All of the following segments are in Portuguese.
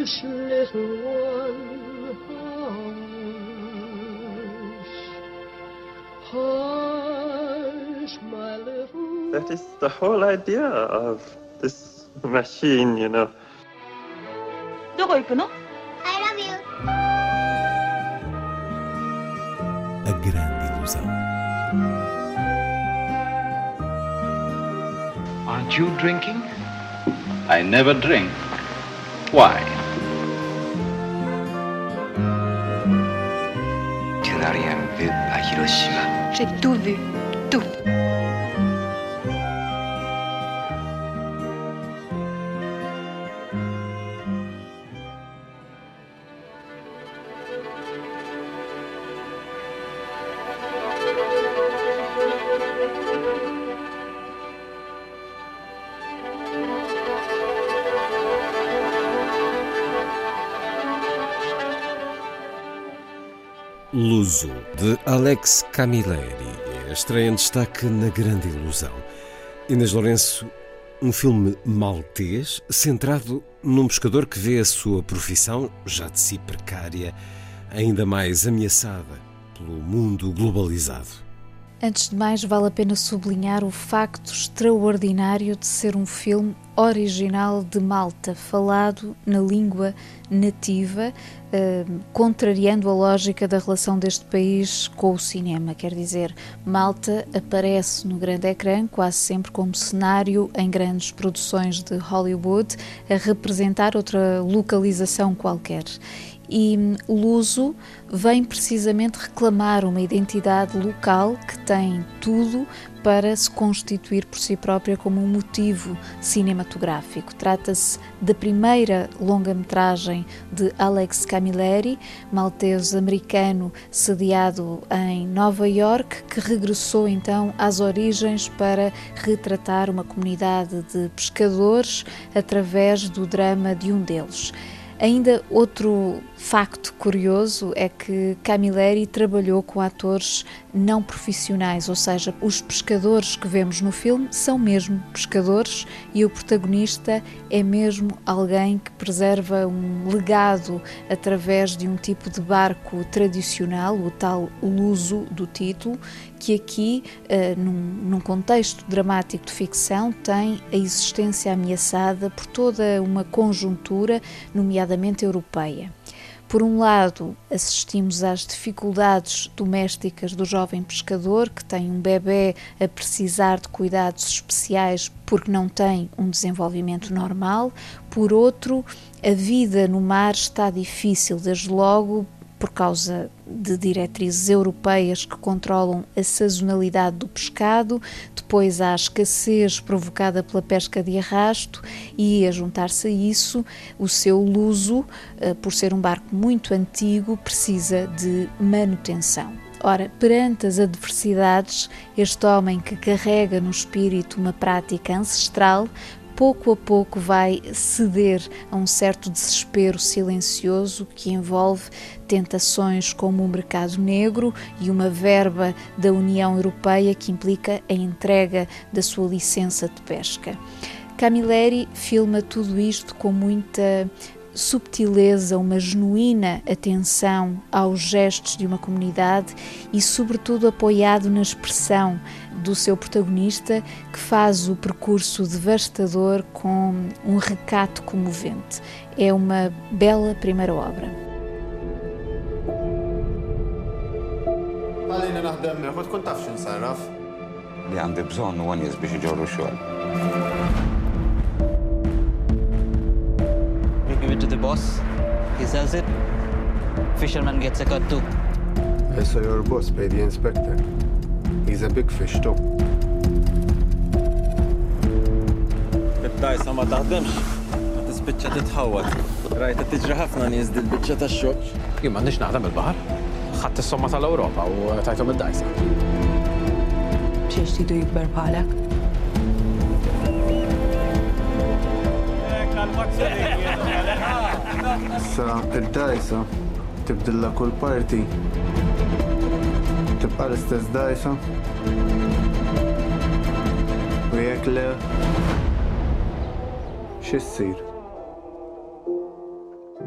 little one, hush, my little... That is the whole idea of this machine, you know. どこ行くの? I love you. A grande ilusão. Aren't you drinking? I never drink. Why? Tu n'as rien vu à Hiroshima. J'ai tout vu, tout. Luso, de Alex Camilleri, é a estreia em destaque na Grande Ilusão. Inês Lourenço, um filme maltês centrado num pescador que vê a sua profissão, já de si precária, ainda mais ameaçada pelo mundo globalizado. Antes de mais, vale a pena sublinhar o facto extraordinário de ser um filme original de Malta, falado na língua nativa, contrariando a lógica da relação deste país com o cinema. Quer dizer, Malta aparece no grande ecrã quase sempre como cenário em grandes produções de Hollywood, a representar outra localização qualquer. E Luso vem precisamente reclamar uma identidade local que tem tudo para se constituir por si própria como um motivo cinematográfico. Trata-se da primeira longa-metragem de Alex Camilleri, maltese-americano sediado em Nova Iorque, que regressou então às origens para retratar uma comunidade de pescadores através do drama de um deles. Ainda outro facto curioso é que Camilleri trabalhou com atores não profissionais, ou seja, os pescadores que vemos no filme são mesmo pescadores e o protagonista é mesmo alguém que preserva um legado através de um tipo de barco tradicional, o tal luso do título, que aqui, num contexto dramático de ficção, tem a existência ameaçada por toda uma conjuntura, nomeadamente europeia. Por um lado, assistimos às dificuldades domésticas do jovem pescador, que tem um bebê a precisar de cuidados especiais porque não tem um desenvolvimento normal. Por outro, a vida no mar está difícil, desde logo, por causa de diretrizes europeias que controlam a sazonalidade do pescado, depois há a escassez provocada pela pesca de arrasto e, a juntar-se a isso, o seu luso, por ser um barco muito antigo, precisa de manutenção. Ora, perante as adversidades, este homem que carrega no espírito uma prática ancestral, pouco a pouco vai ceder a um certo desespero silencioso que envolve tentações como o mercado negro e uma verba da União Europeia que implica a entrega da sua licença de pesca. Camilleri filma tudo isto com muita subtileza, uma genuína atenção aos gestos de uma comunidade e, sobretudo, apoiado na expressão do seu protagonista, que faz o percurso devastador com um recato comovente. É uma bela primeira obra. Give it to the boss. He sells it. Fisherman gets a cut too. I saw your boss pay the inspector. He's a big fish too. الدايسة ما تخدمش ما تثبتش تتهوت رايت تجري ħafna nies dil biċċa tax-xogħol. Jien m'għandix naħdem il-baħar. Ħadd is-somma tal-Ewropa u tajthom id-dajsa. Biex tidu jikber bħalek. Sa id-dajsa tibdilla kull parti. Tibqa' l-istess dajsa. U jekk le x'issir?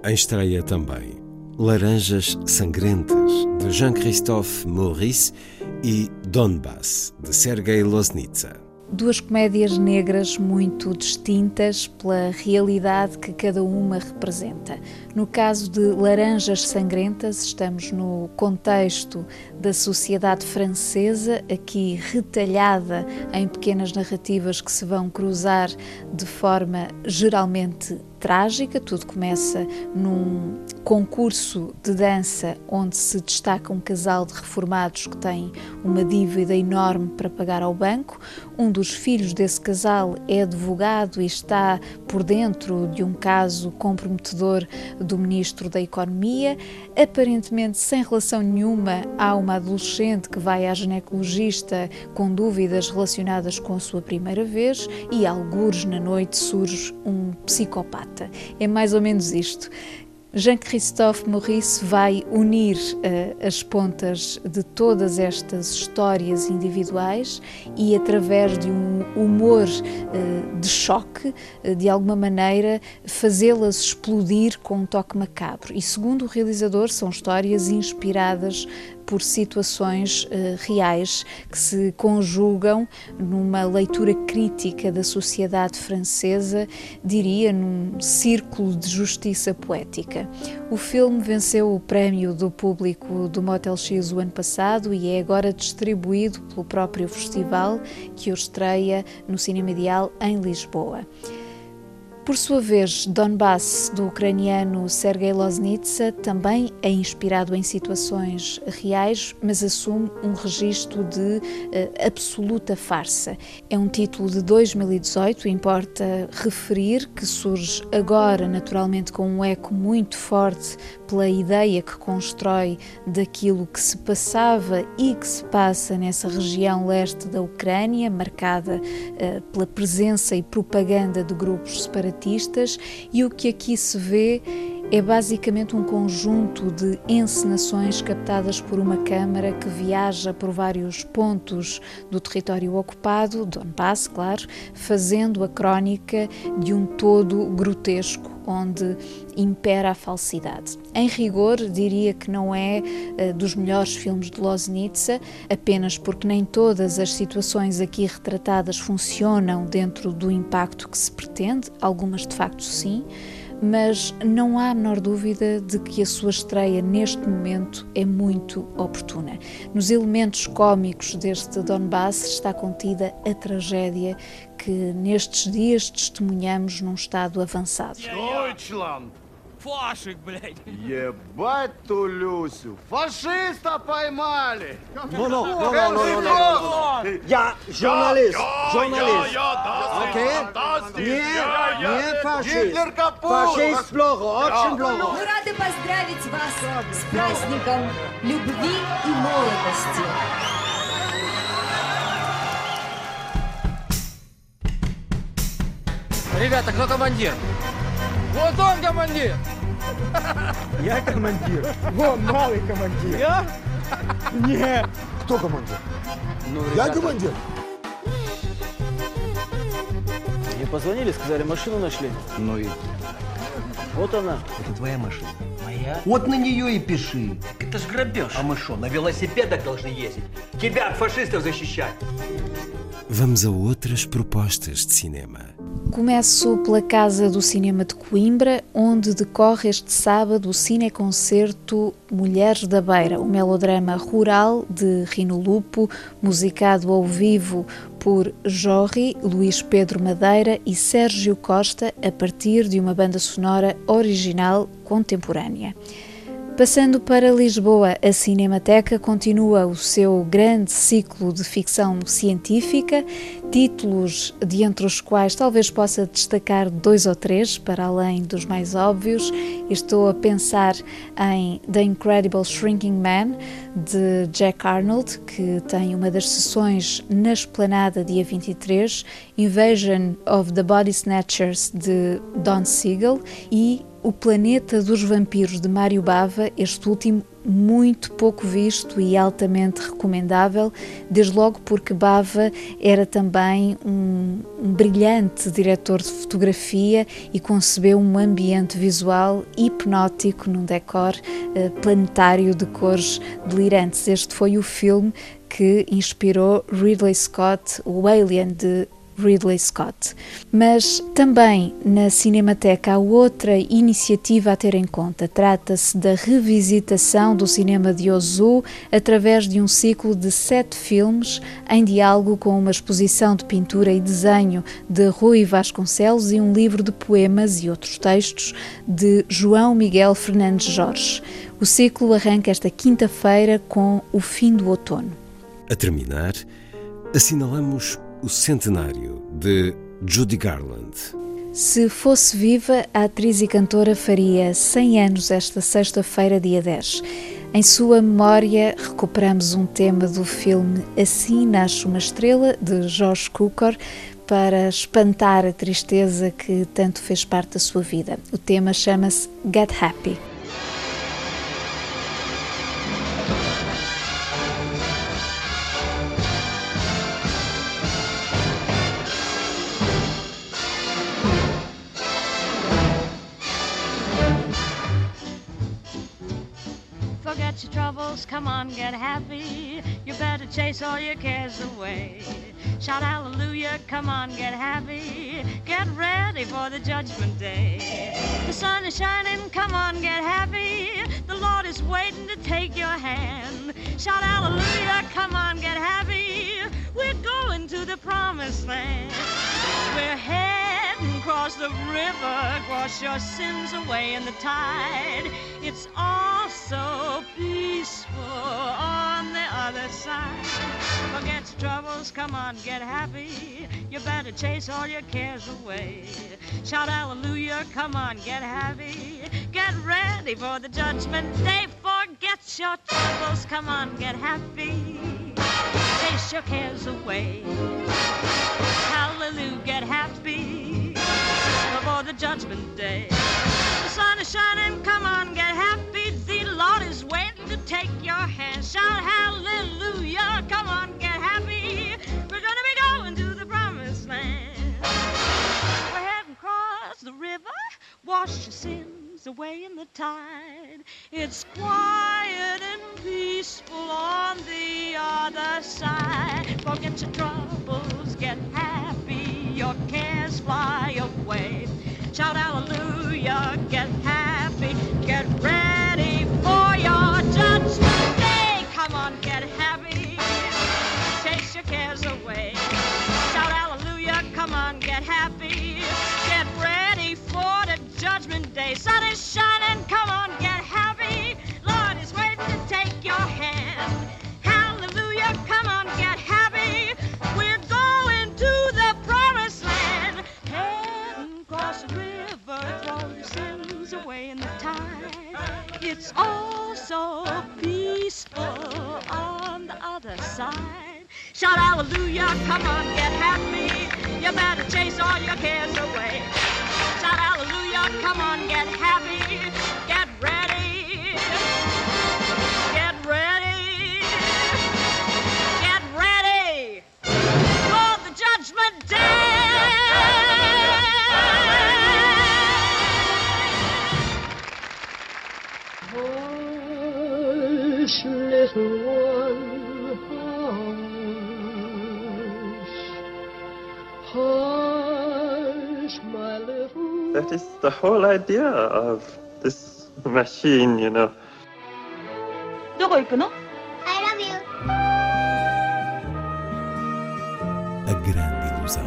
Em estreia também Laranjas Sangrentas, de Jean-Christophe Maurice, e Donbass, de Sergei Loznitsa. Duas comédias negras muito distintas pela realidade que cada uma representa. No caso de Laranjas Sangrentas, estamos no contexto da sociedade francesa, aqui retalhada em pequenas narrativas que se vão cruzar de forma geralmente trágica. Tudo começa num concurso de dança onde se destaca um casal de reformados que tem uma dívida enorme para pagar ao banco. Um dos filhos desse casal é advogado e está por dentro de um caso comprometedor do Ministro da Economia. Aparentemente sem relação nenhuma, há uma adolescente que vai à ginecologista com dúvidas relacionadas com a sua primeira vez e, algures na noite, surge um psicopata. É mais ou menos isto. Jean-Christophe Maurice vai unir as pontas de todas estas histórias individuais e, através de um humor de choque, de alguma maneira, fazê-las explodir com um toque macabro. E, segundo o realizador, são histórias inspiradas por situações reais que se conjugam numa leitura crítica da sociedade francesa, diria, num círculo de justiça poética. O filme venceu o prémio do público do Motel X o ano passado e é agora distribuído pelo próprio festival, que o estreia no Cinema Ideal em Lisboa. Por sua vez, Donbass, do ucraniano Sergei Loznitsa, também é inspirado em situações reais, mas assume um registro de absoluta farsa. É um título de 2018, importa referir que surge agora, naturalmente, com um eco muito forte pela ideia que constrói daquilo que se passava e que se passa nessa região leste da Ucrânia, marcada pela presença e propaganda de grupos separatistas, e o que aqui se vê é basicamente um conjunto de encenações captadas por uma câmara que viaja por vários pontos do território ocupado, Donbass, claro, fazendo a crónica de um todo grotesco, onde impera a falsidade. Em rigor, diria que não é dos melhores filmes de Loznitsa, apenas porque nem todas as situações aqui retratadas funcionam dentro do impacto que se pretende, algumas de facto sim, mas não há a menor dúvida de que a sua estreia neste momento é muito oportuna. Nos elementos cómicos deste Donbass está contida a tragédia que nestes dias testemunhamos num estado avançado. Deutschland! Фашик, блядь! Ебать ту Люсю! Фашиста поймали! No. Я журналист! Окей? Не фашист! Фашист плохо, очень плохо! Мы рады поздравить вас с праздником любви и молодости! Ребята, кто командир? Вот он командир! Я командир. Вон малый командир. Я? Нет. Кто командир? Ну, я командир. Мне позвонили, сказали, машину нашли. Ну и? Вот она. Это твоя машина. Моя? Вот на нее и пиши. Это ж грабеж. А мы что, на велосипедах должны ездить? Тебя от фашистов защищать? Vamos a outras propostas de cinema. Começo pela Casa do Cinema de Coimbra, onde decorre este sábado o cineconcerto Mulheres da Beira, o melodrama rural de Rino Lupo, musicado ao vivo por Jorri, Luís Pedro Madeira e Sérgio Costa, a partir de uma banda sonora original contemporânea. Passando para Lisboa, a Cinemateca continua o seu grande ciclo de ficção científica, títulos de entre os quais talvez possa destacar 2 ou 3, para além dos mais óbvios. Estou a pensar em The Incredible Shrinking Man, de Jack Arnold, que tem uma das sessões na Esplanada dia 23, Invasion of the Body Snatchers, de Don Siegel, e O Planeta dos Vampiros, de Mário Bava, este último muito pouco visto e altamente recomendável, desde logo porque Bava era também um brilhante diretor de fotografia e concebeu um ambiente visual hipnótico num decor planetário de cores delirantes. Este foi o filme que inspirou Ridley Scott, o Alien de Ridley Scott. Mas também na Cinemateca há outra iniciativa a ter em conta. Trata-se da revisitação do cinema de Ozu através de um ciclo de 7 filmes em diálogo com uma exposição de pintura e desenho de Rui Vasconcelos e um livro de poemas e outros textos de João Miguel Fernandes Jorge. O ciclo arranca esta quinta-feira com O Fim do Outono. A terminar, assinalamos o centenário de Judy Garland. Se fosse viva, a atriz e cantora faria 100 anos esta sexta-feira, dia 10. Em sua memória, recuperamos um tema do filme Assim Nasce uma Estrela, de Josh Cukor, para espantar a tristeza que tanto fez parte da sua vida. O tema chama-se Get Happy. Forget your troubles, come on, get happy. You better chase all your cares away. Shout hallelujah, come on, get happy. Get ready for the judgment day. The sun is shining, come on, get happy. The Lord is waiting to take your hand. Shout hallelujah, come on, get happy. We're going to the promised land. We're heading across the river, wash your sins away in the tide. It's all so peaceful on the other side. Forget your troubles, come on, get happy. You better chase all your cares away. Shout hallelujah, come on, get happy. Get ready for the judgment day. Forget your troubles, come on, get happy. Chase your cares away. Hallelujah, get happy before the judgment day. The sun is shining, come on, get happy. The Lord is waiting to take your hand. Shout hallelujah, come on, get happy. We're gonna be going to the promised land. We're heading across the river, wash your sins away in the tide. It's quiet and peaceful on the other side. Forget your troubles, get happy, your cares fly away. Shout hallelujah, get happy, get ready for your judgment day. Come on, get happy, chase your cares away. Shout hallelujah, come on, get happy, get ready for the judgment day. Sun is shining, come on, get happy. Lord is waiting to take your hand. Hallelujah, come on, get happy. We're going to the promised land. Heading across the river, throw your sins away in the tide. It's all so peaceful on the other side. Shout hallelujah, come on, get happy. You better chase all your cares away. Shout hallelujah, come on, get happy. Get ready. Get ready. Get ready for the judgment day. Hush, little one, hush. Hush, my little... That is the whole idea of this machine, you know. どこ行くの? I love you. A grande ilusão.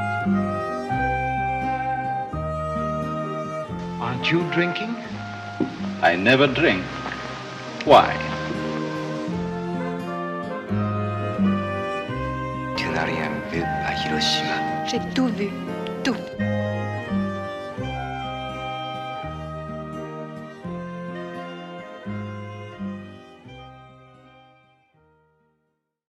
Aren't you drinking? I never drink. Why? Tu n'as rien vu à Hiroshima. J'ai tout vu, tout.